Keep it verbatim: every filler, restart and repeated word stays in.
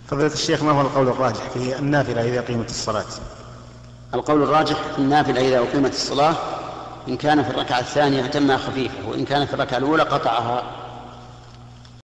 فضيلة الشيخ، ما هو القول الراجح في النافلة إذا قيمت الصلاة؟ القول الراجح في النافلة إذا أقيمت الصلاة إن كان في الركعة الثانية أتمها خفيفة، وإن كان في الركعة الأولى قطعها